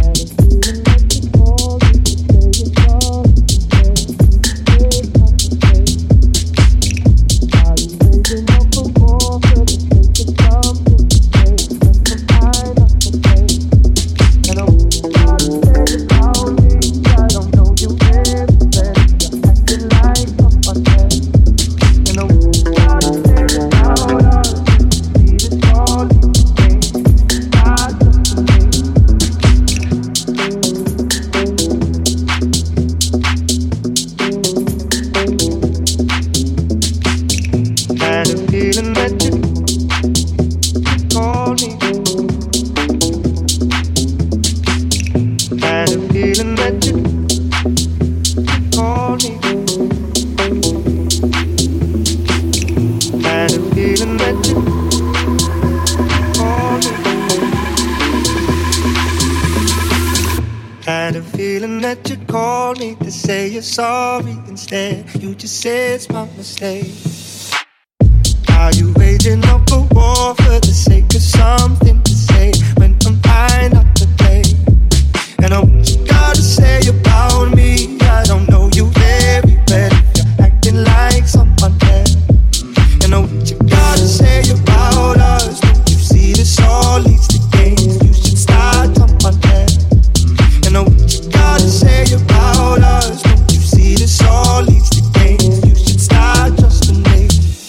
Sorry instead, you just say it's my mistake. Are you waging up a war for the sake of something to say when I'm high not to play? And what you gotta say about me, I don't know you very well if you're acting like someone else. And what you gotta say about us, don't you see this all leads to games? You should start someone else. And what you gotta say about us, this all leads to games. You should start trusting me.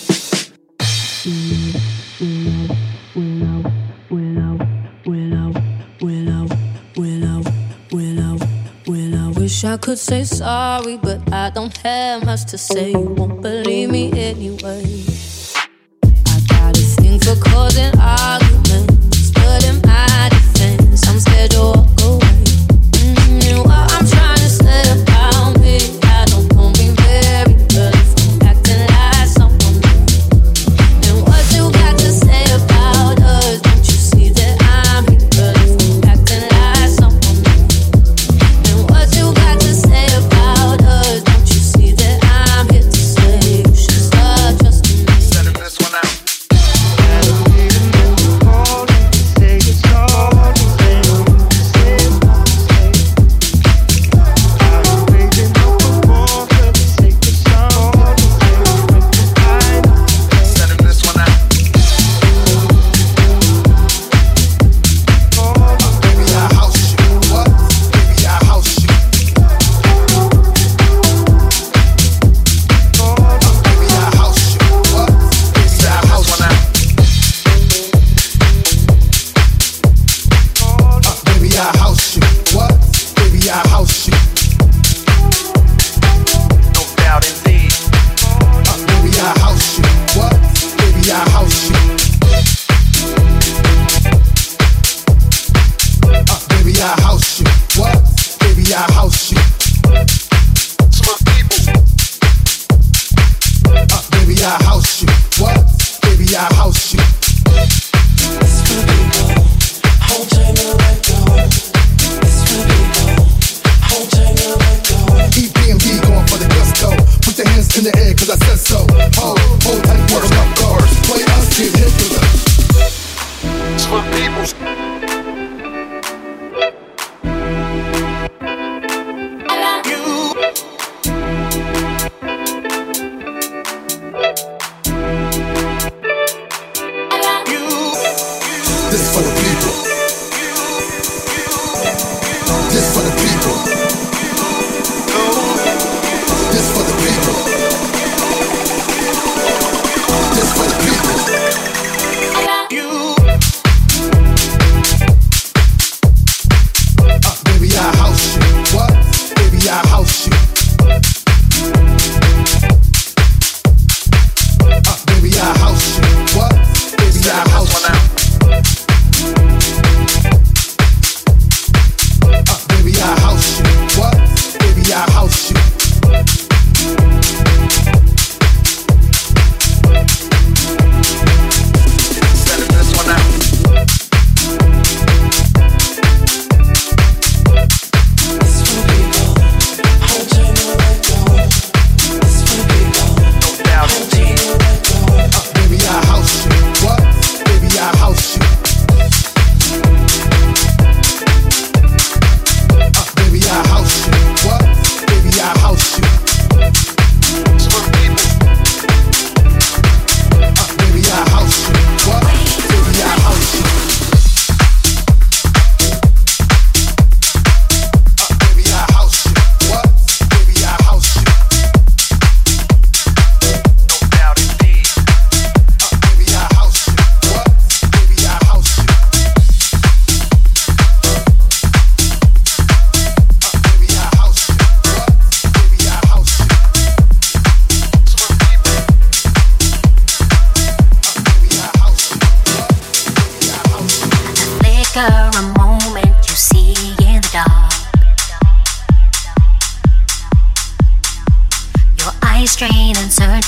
Wish I could say sorry, but I don't have much to say. You won't believe me anyway. I got a thing for causing arguments, but in my defense, I'm scared to walk away. What I'm trying to say about me, I don't know me very well if I'm acting like someone new. And what you got to say about us, don't you see that I'm here well if I'm acting like someone new. And what you got to say about us, don't you see that I'm here to say you should start trusting me. Sending this one out.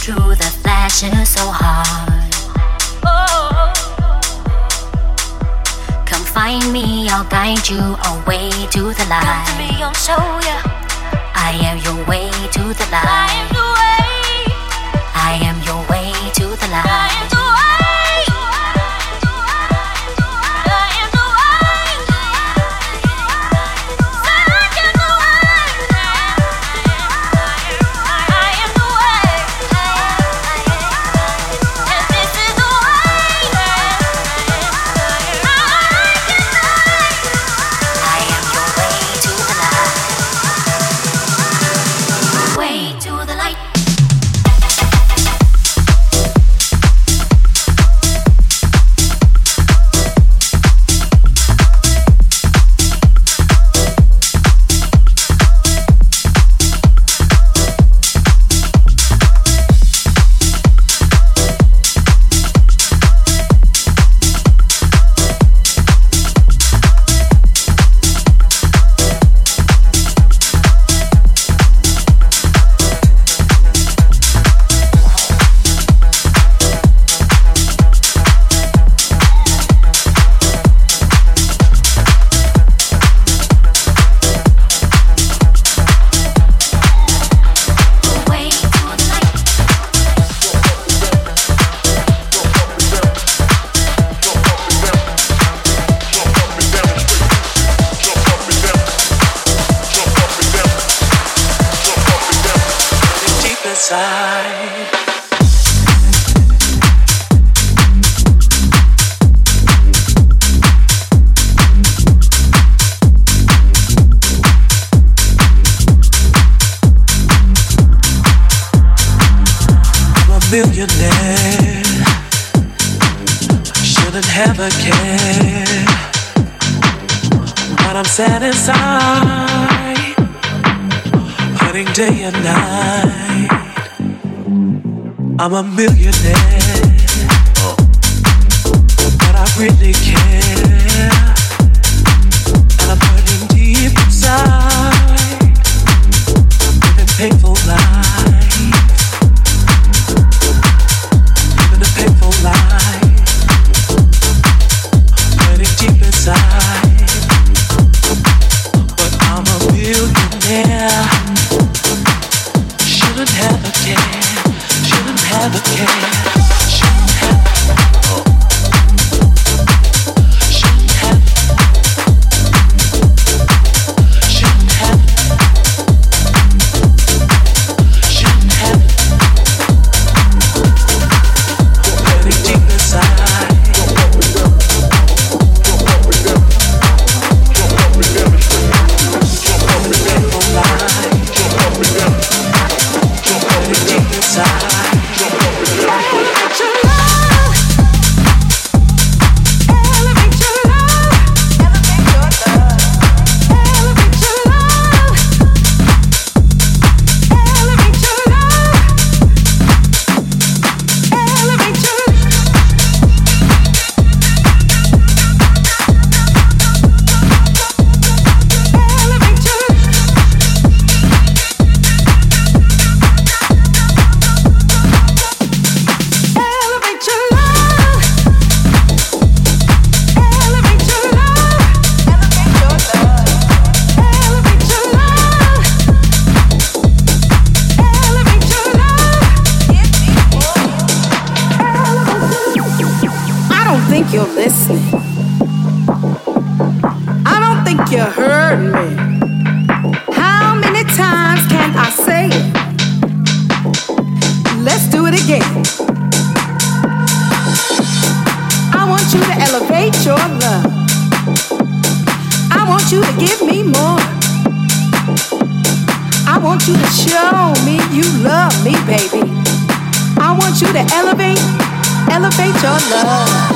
through the flashes so hard. Oh, come find me, I'll guide you away to the light. Come to me, I'll show ya. I am your way to the light. I am the way. I am your way to the light. I am the way. Millionaire, shouldn't have a care, but I'm sad inside, hurting day and night. I'm a millionaire, but I really care, and I'm hurting deep inside, living painful life. Painful life, hurting deep inside. But I'm a millionaire. Shouldn't have a care. Shouldn't have a care. Shouldn't have. Shouldn't have. Shouldn't have. Shouldn't have. Deep inside. Elevate your love.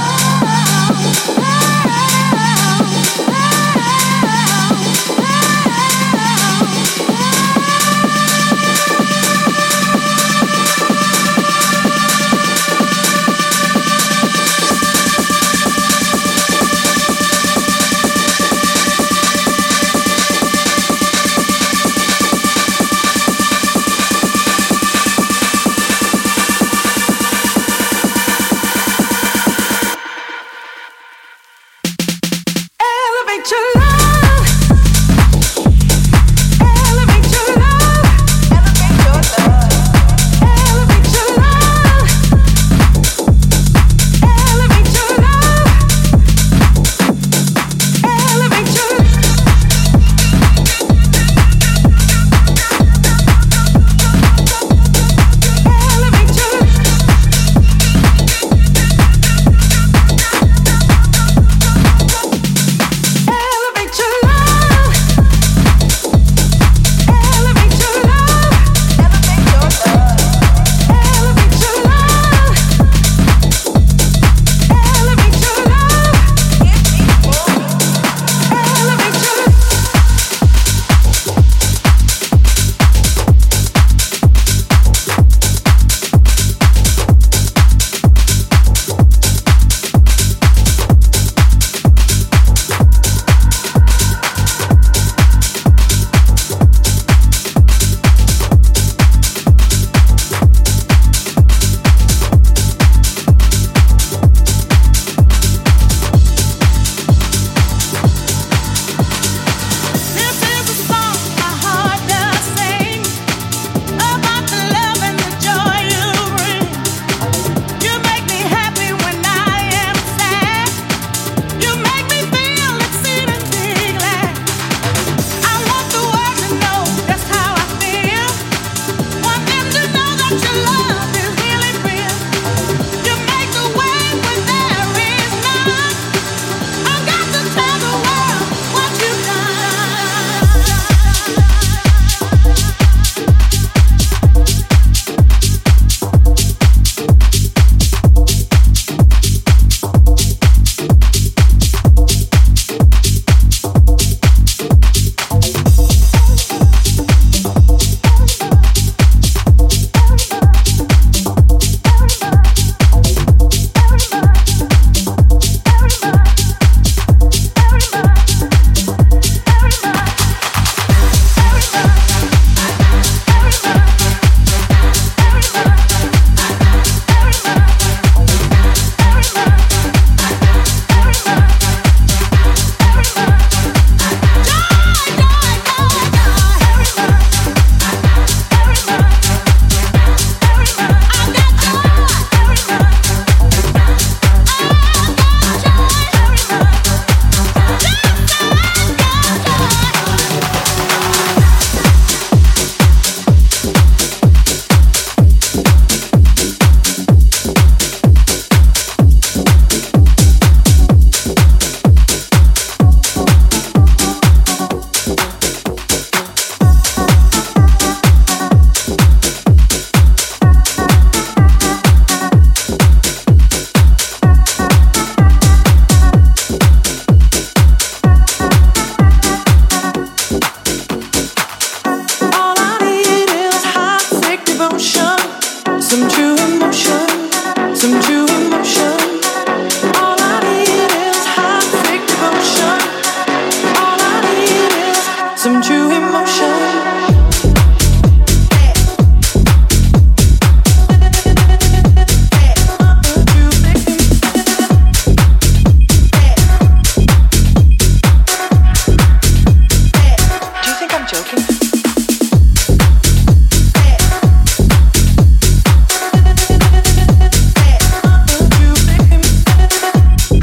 some true emotion.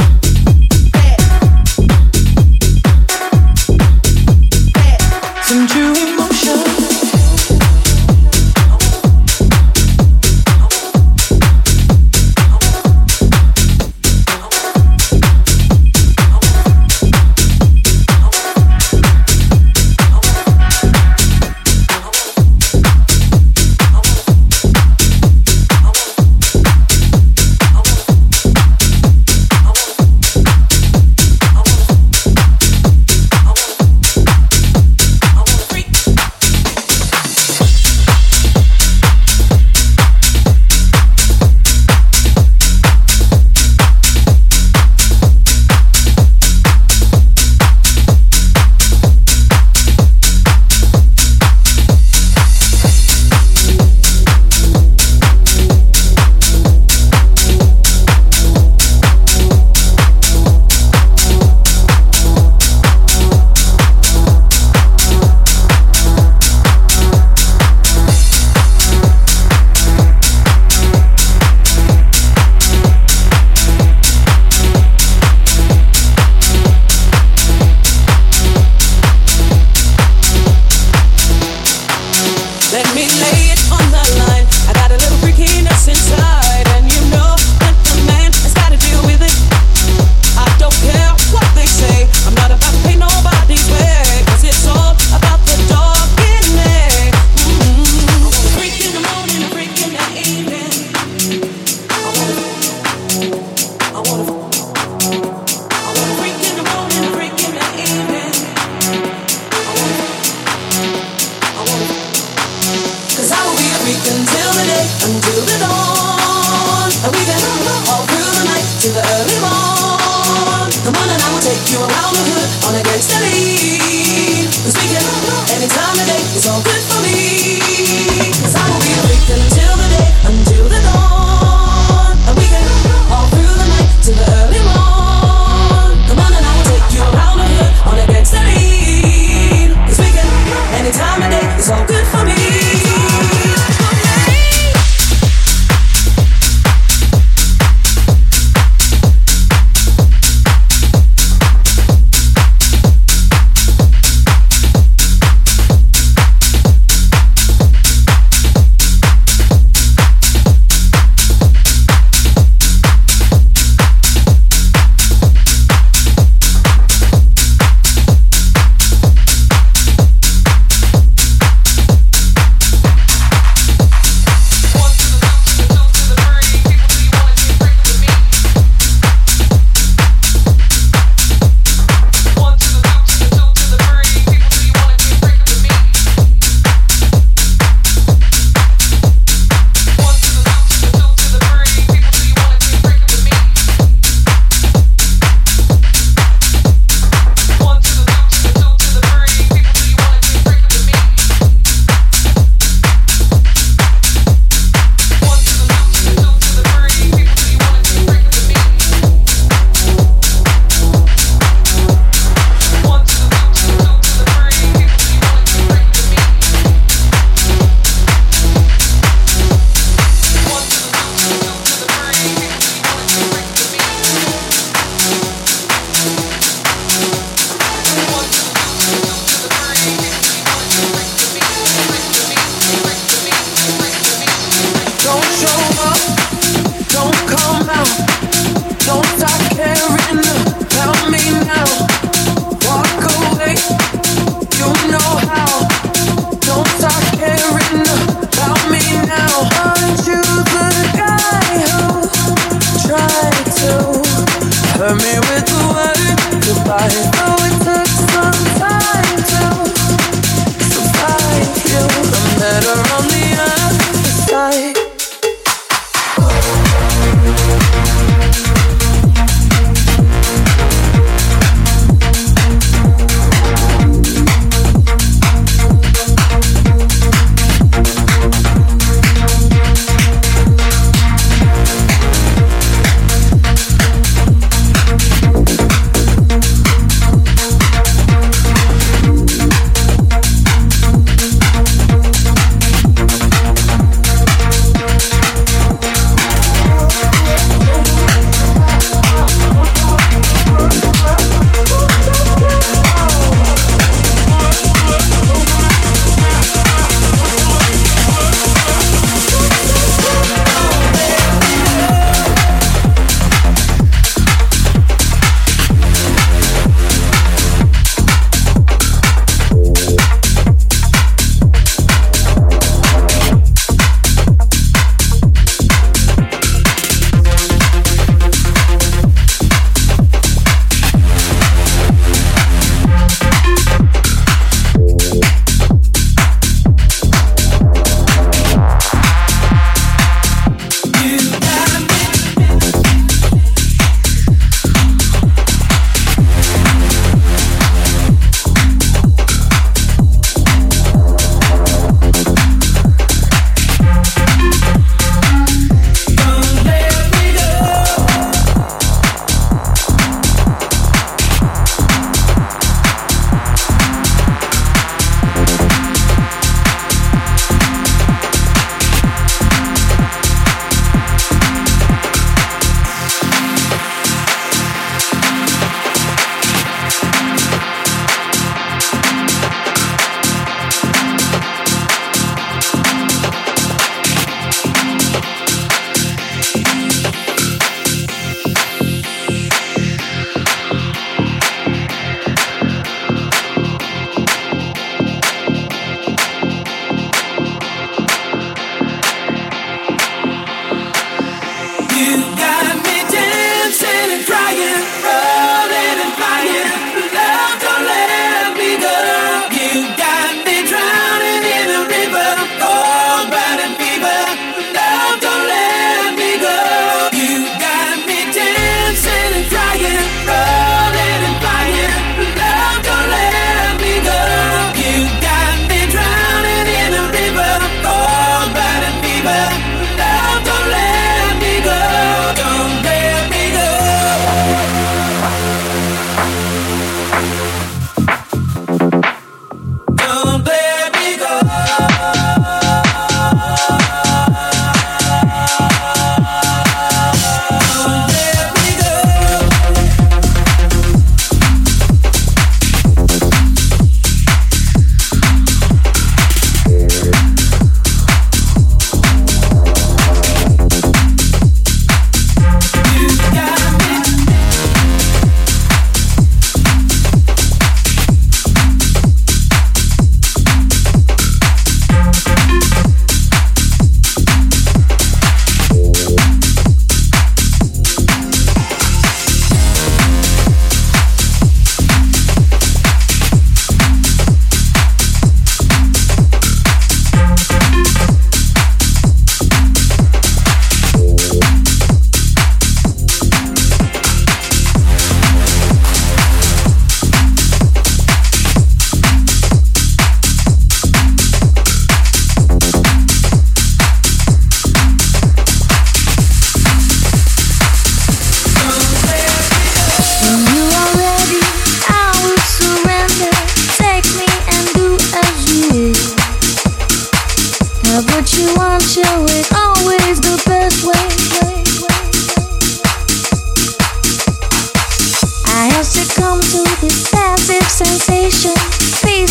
Some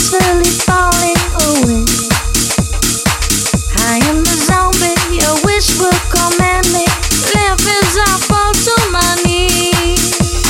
peacefully falling away. I am the zombie, your wish will command me. Left as I fall to my knees.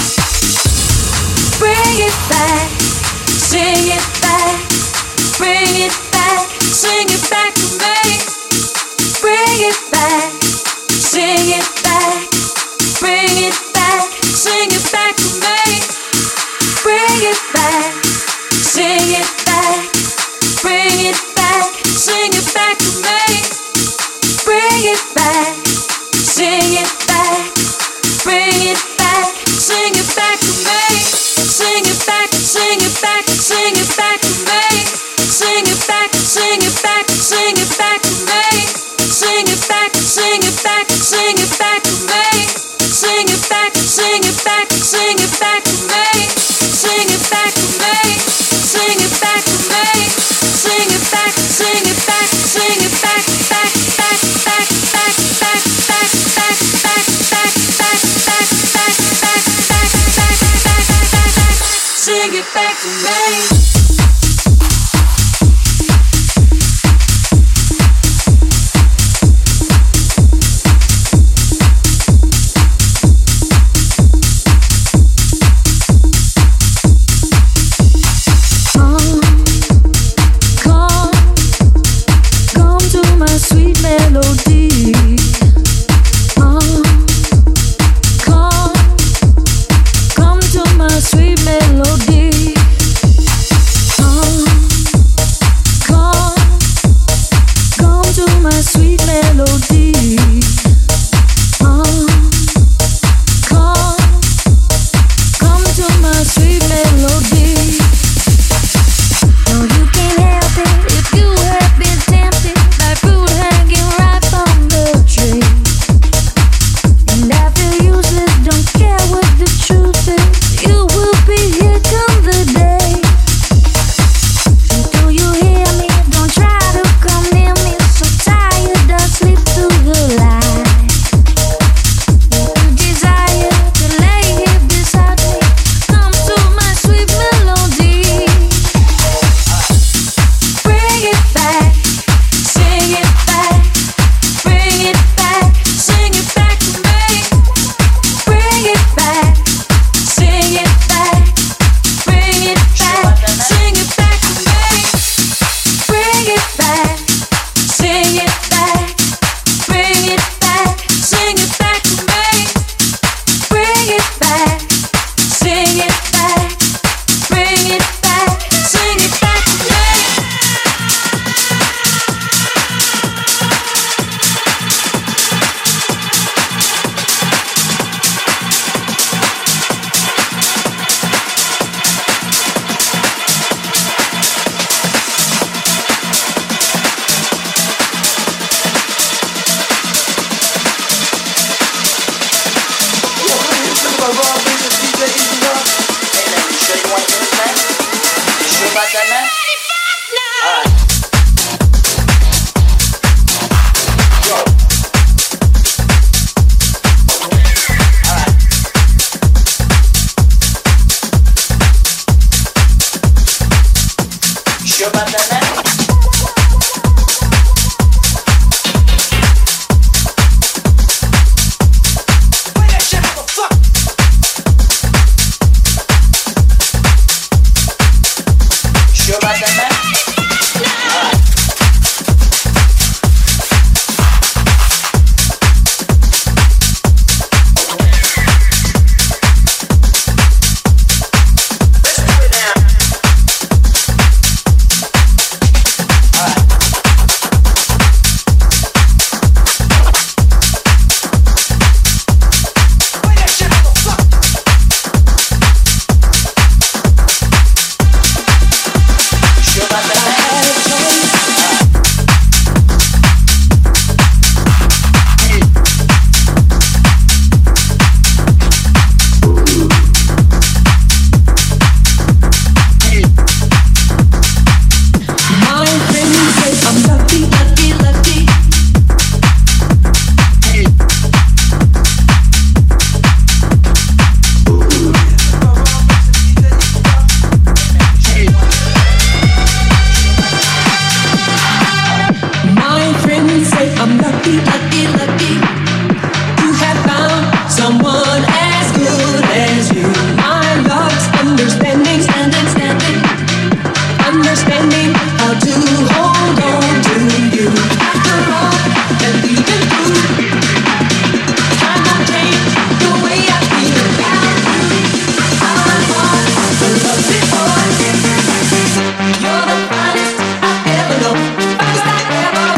Bring it back, sing it back. Bring it back, sing it back to me. Bring it back, sing it back. Bring it back, sing it back to me. Bring it back, sing it back. Bring it back, sing it back to me. Bring it back, sing it back. Bring it back, sing it back to me. Sing it back, sing it back, sing it back to me. Sing it back, sing it back, sing it back to me. Sing it back, sing it back, sing it back to me. Sing it back, sing it back, sing it back to me. Sing it back to me. Sing it back to me. Sing it back, sing it back, sing it back, back, back, back, back, back, back, back, back, back, back, back, back, back, back, back, back. Sing it back to me. understanding how to hold on to you. After all that we've been through, time won't change the way I feel about you. I want the love before. You're the finest I've ever known, finest I've ever known.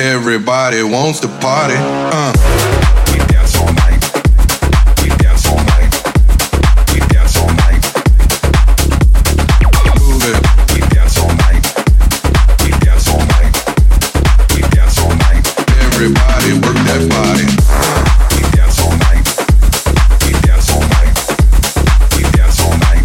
Everybody wants to party. We dance all night. We dance all night. We dance all night. Move it. We dance all night. We dance all night. We dance all night. Everybody work that body. We dance all night. We dance all night. We dance all night.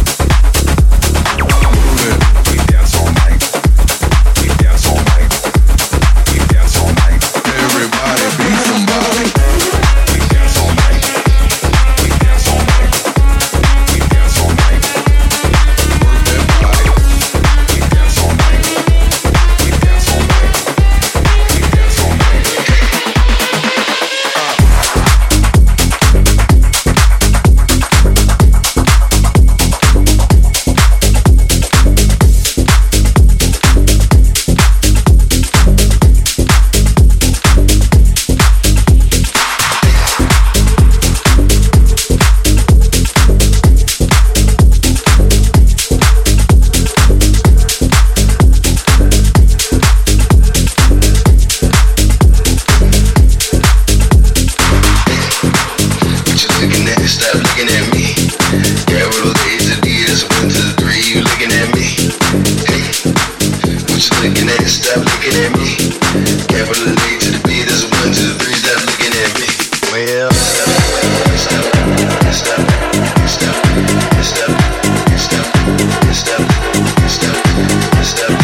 Move it. We dance all night. We dance all night. We dance all night. Everybody be somebody. We dance all night. We dance all night. We dance all night. Work that body. We dance all night. We dance all night. We dance all night. What you looking at? Stop looking at me. Capital A to D, that's 1 to 3. You looking at me? Hey, what you looking at? Stop looking at me. Capital A to the B, that's 1 to 3. Stop looking at me. Well, stop, stop, stop, stop, stop, stop, stop, stop, stop,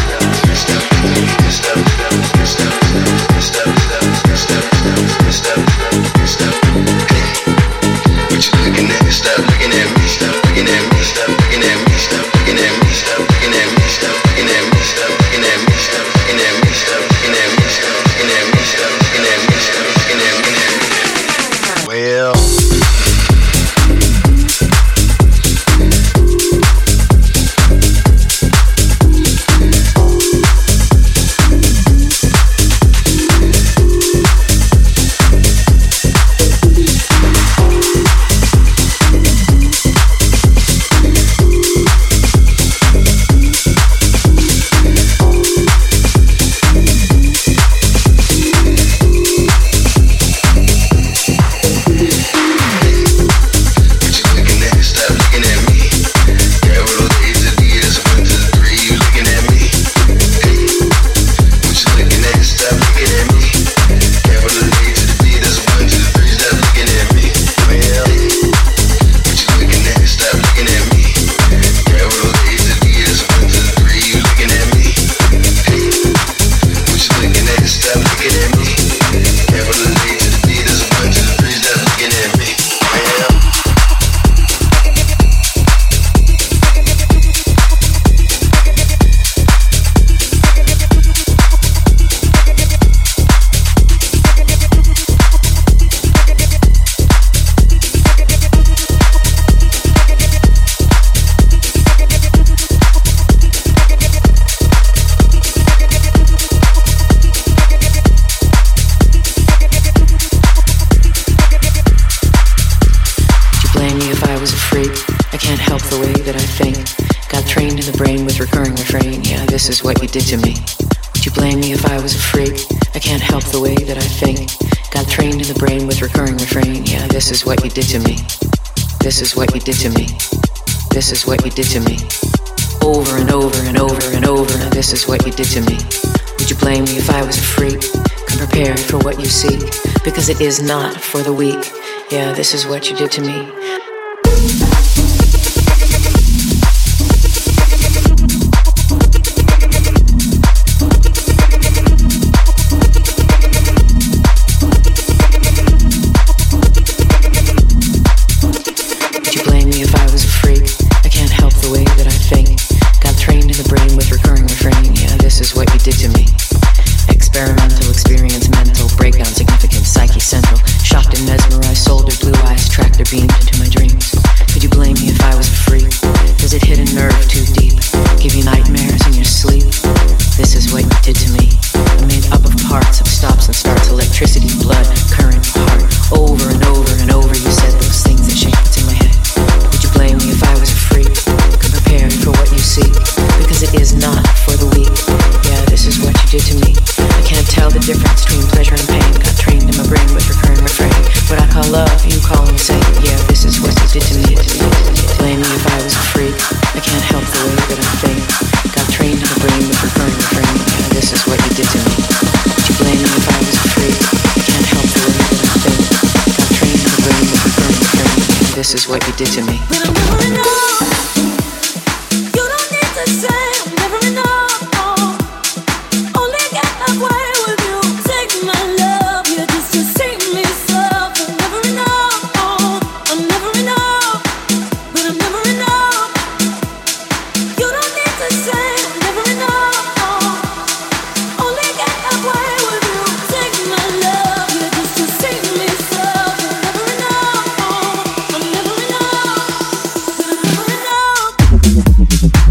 what you looking at? Stop looking at me. Stop looking at me. Stop looking at me. Stop looking at me. Stop looking at me. Stop looking at me. Stop looking at me. Stop looking at me. Stop looking at me. Stop looking at me. Stop looking at me. Stop looking at me. Well. This is what you did to me. Would you blame me if I was a freak? I can't help the way that I think. Got trained in the brain with recurring refrain. Yeah, this is what you did to me. This is what you did to me. This is what you did to me. Over and over and over and over. Now this is what you did to me. Would you blame me if I was a freak? Come prepared for what you seek, because it is not for the weak. Yeah, this is what you did to me. Different the way that I think. Got trained in the brain with recurring refrain. Yeah, this is what you did to me. Would you blame me if I was a freak? I can't help the way that I think. Got trained in the brain with recurring refrain. Yeah, this is what you did to me. When I'm never enough, you don't need to say I'm never enough. Only get halfway with you. Take my love, you just to see me suffer. Never enough, I'm never enough. But I'm never enough. You don't need to say I'm never enough. Only get halfway with you. Take my love, you just to see me suffer. Never enough, I'm never enough. But I'm never enough.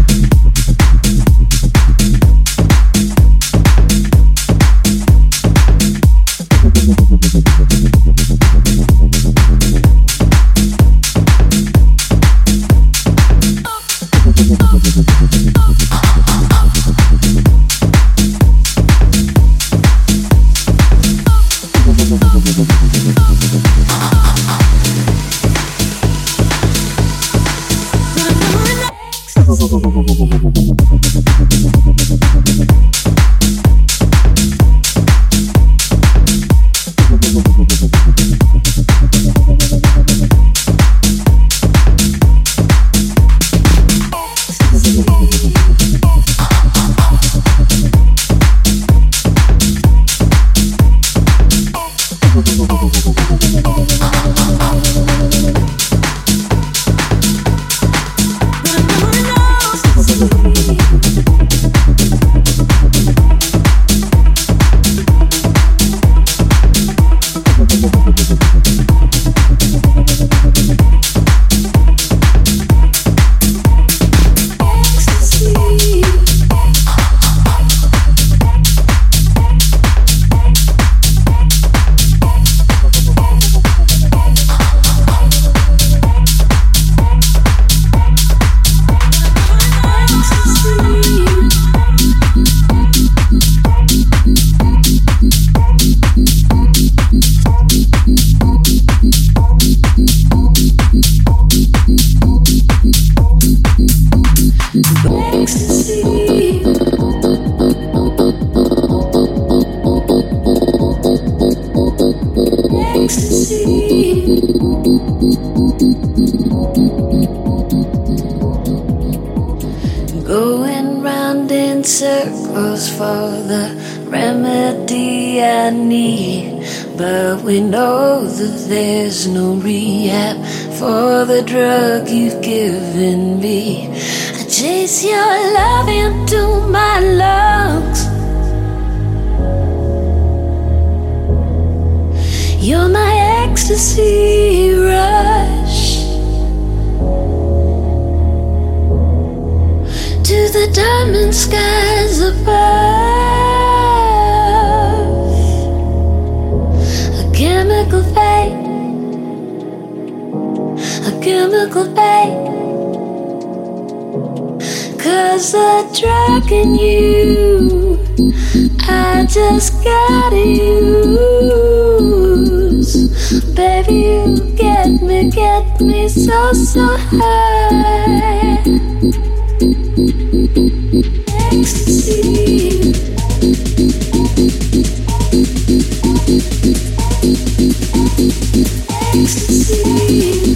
Going round in circles for the remedy I need, but we know that there's no rehab for the drug you've given me. I chase your love into my lungs. You're my ecstasy rush to the diamond skies above. A chemical fate, a chemical fate. 'Cause the drug in you, I just gotta use. Baby, you get me so, so high. Ecstasy. Ecstasy.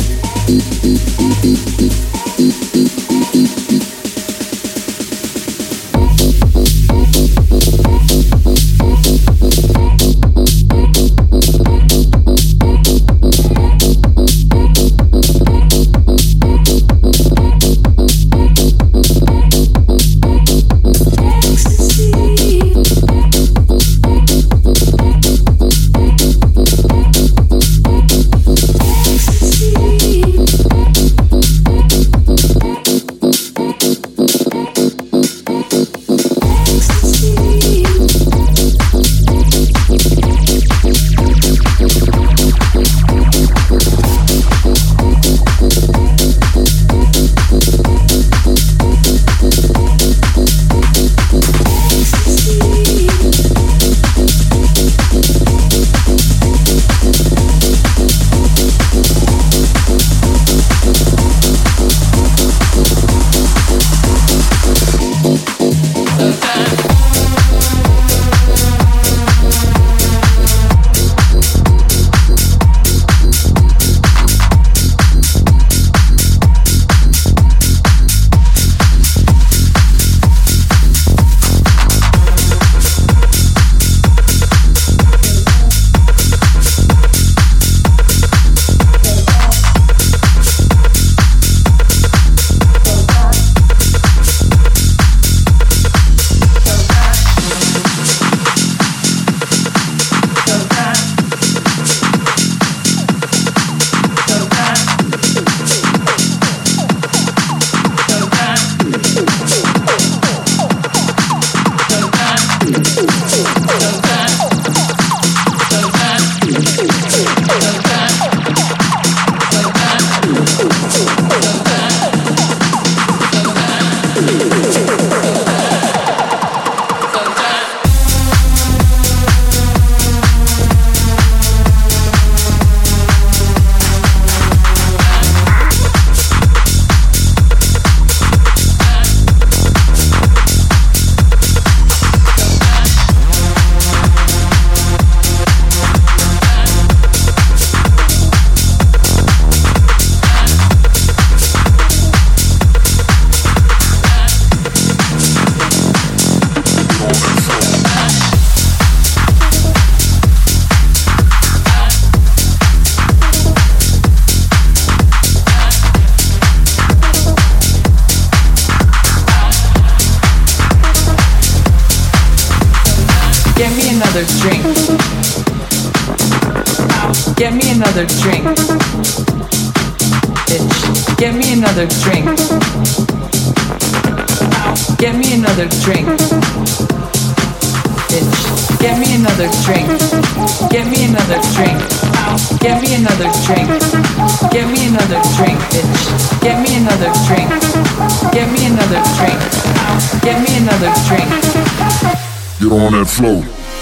Get on that flow.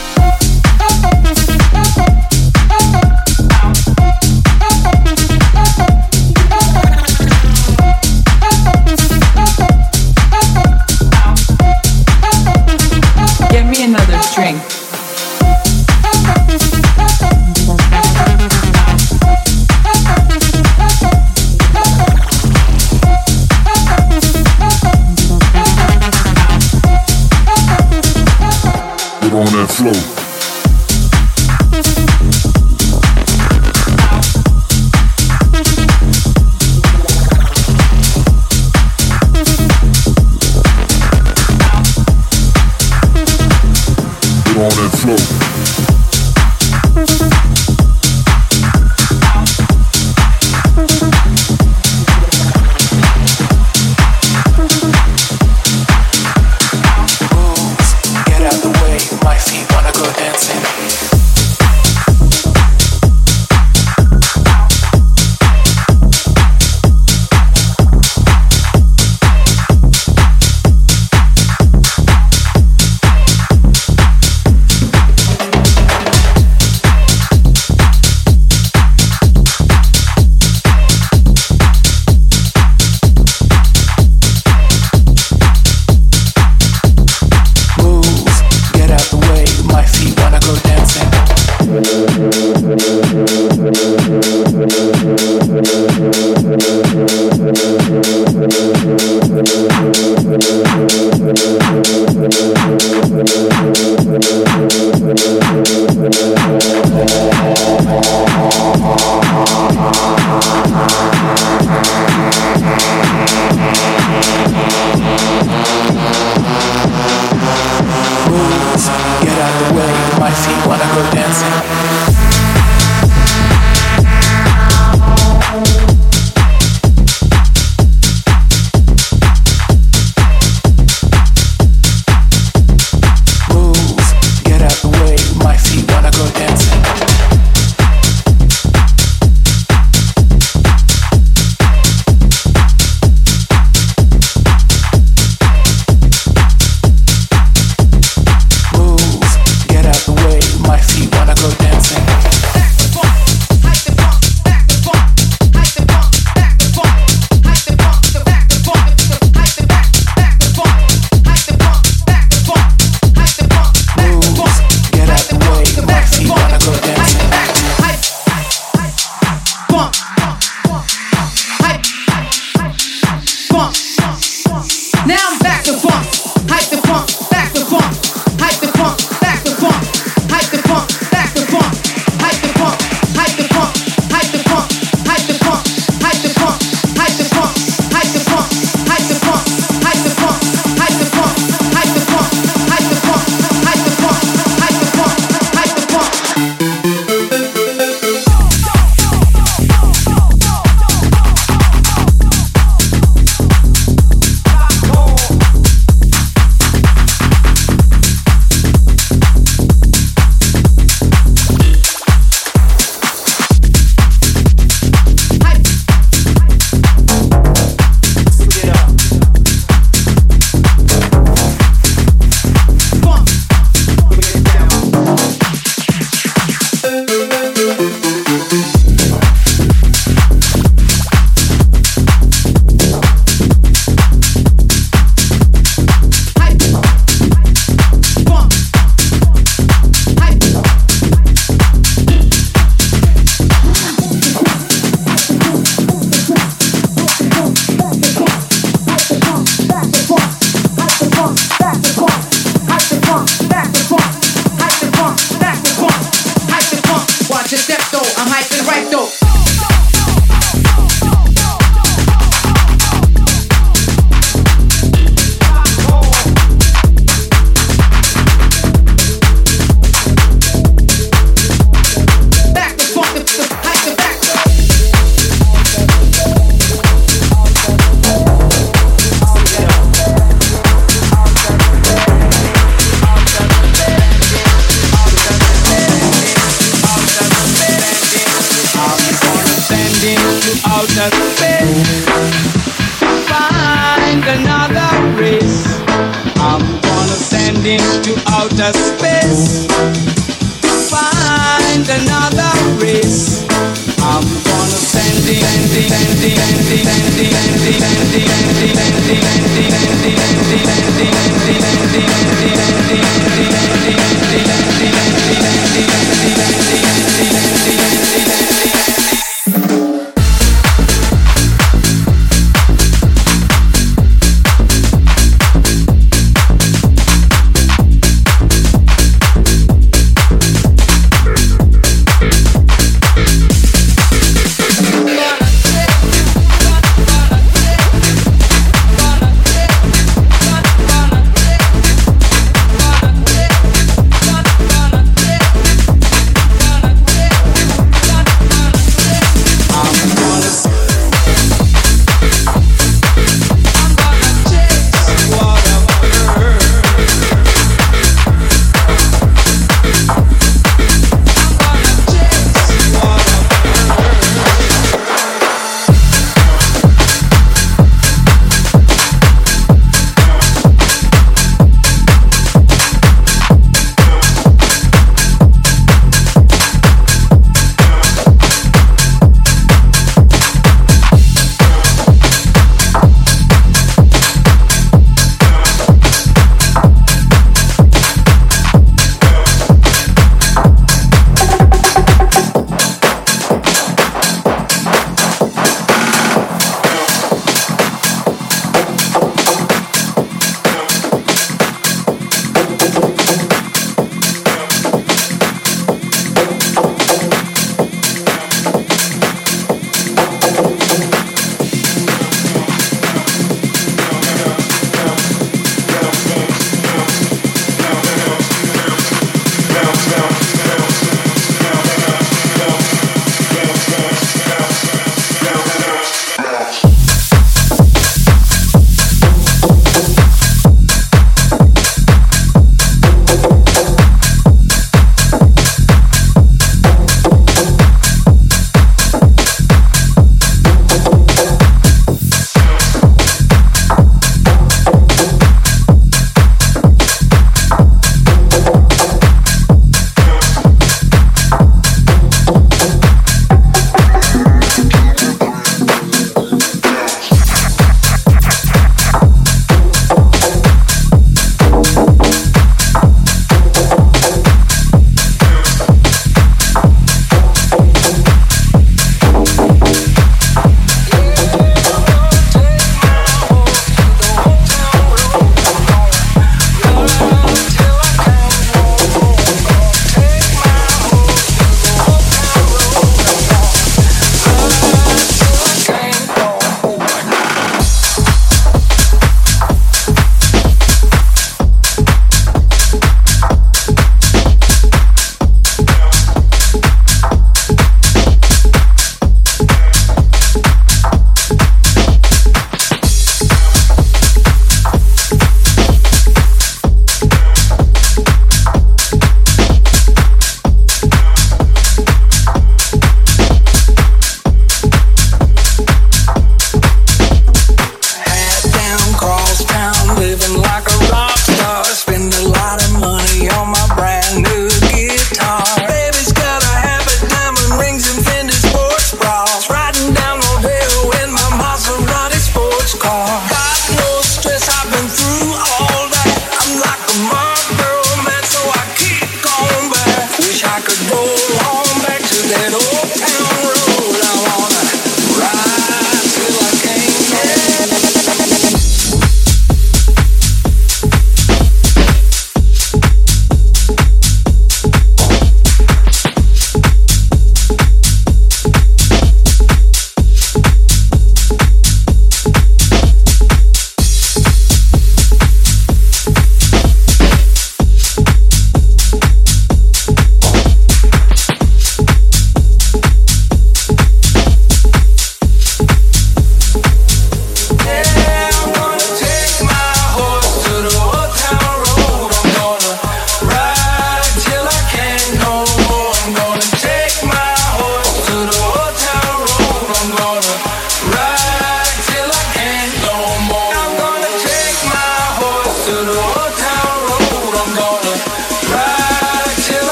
Get me another drink. On that flow. Get on that flow. outer space. Find another race. I'm gonna send into outer space. Find another race. I'm gonna send it.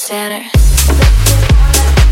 center.